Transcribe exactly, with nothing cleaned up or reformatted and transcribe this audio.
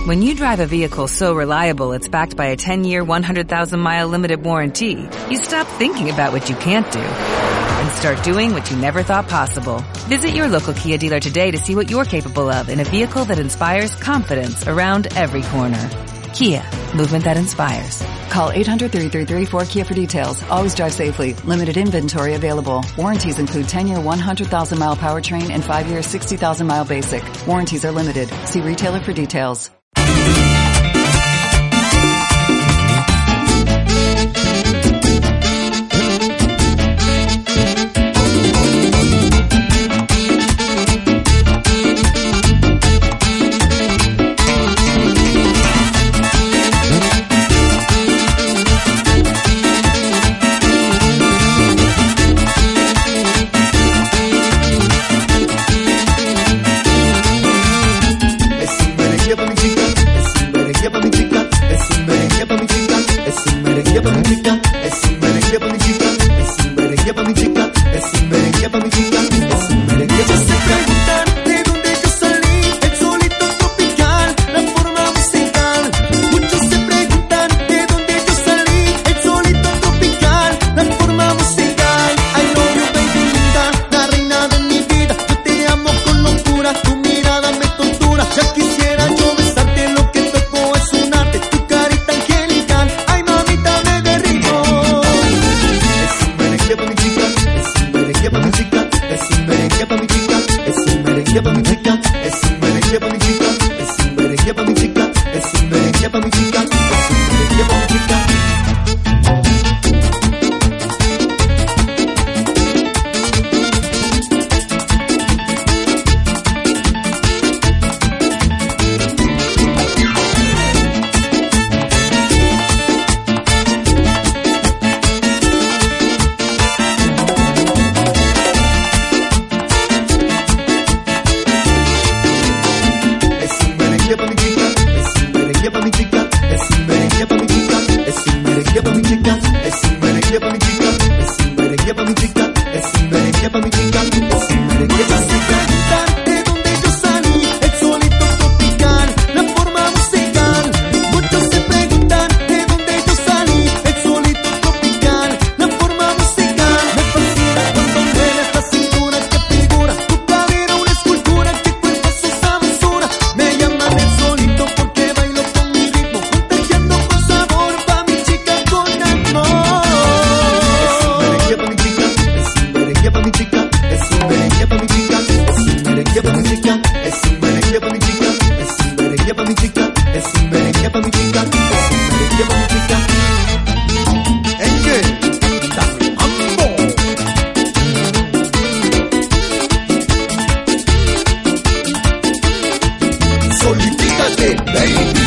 When you drive a vehicle so reliable it's backed by a ten-year, one hundred thousand mile limited warranty, you stop thinking about what you can't do and start doing what you never thought possible. Visit your local Kia dealer today to see what you're capable of in a vehicle that inspires confidence around every corner. Kia, movement that inspires. Call eight hundred, three three three, four K I A for details. Always drive safely. Limited inventory available. Warranties include ten-year, one hundred thousand mile powertrain and five-year, sixty thousand mile basic. Warranties are limited. See retailer for details. Solícítate, baby.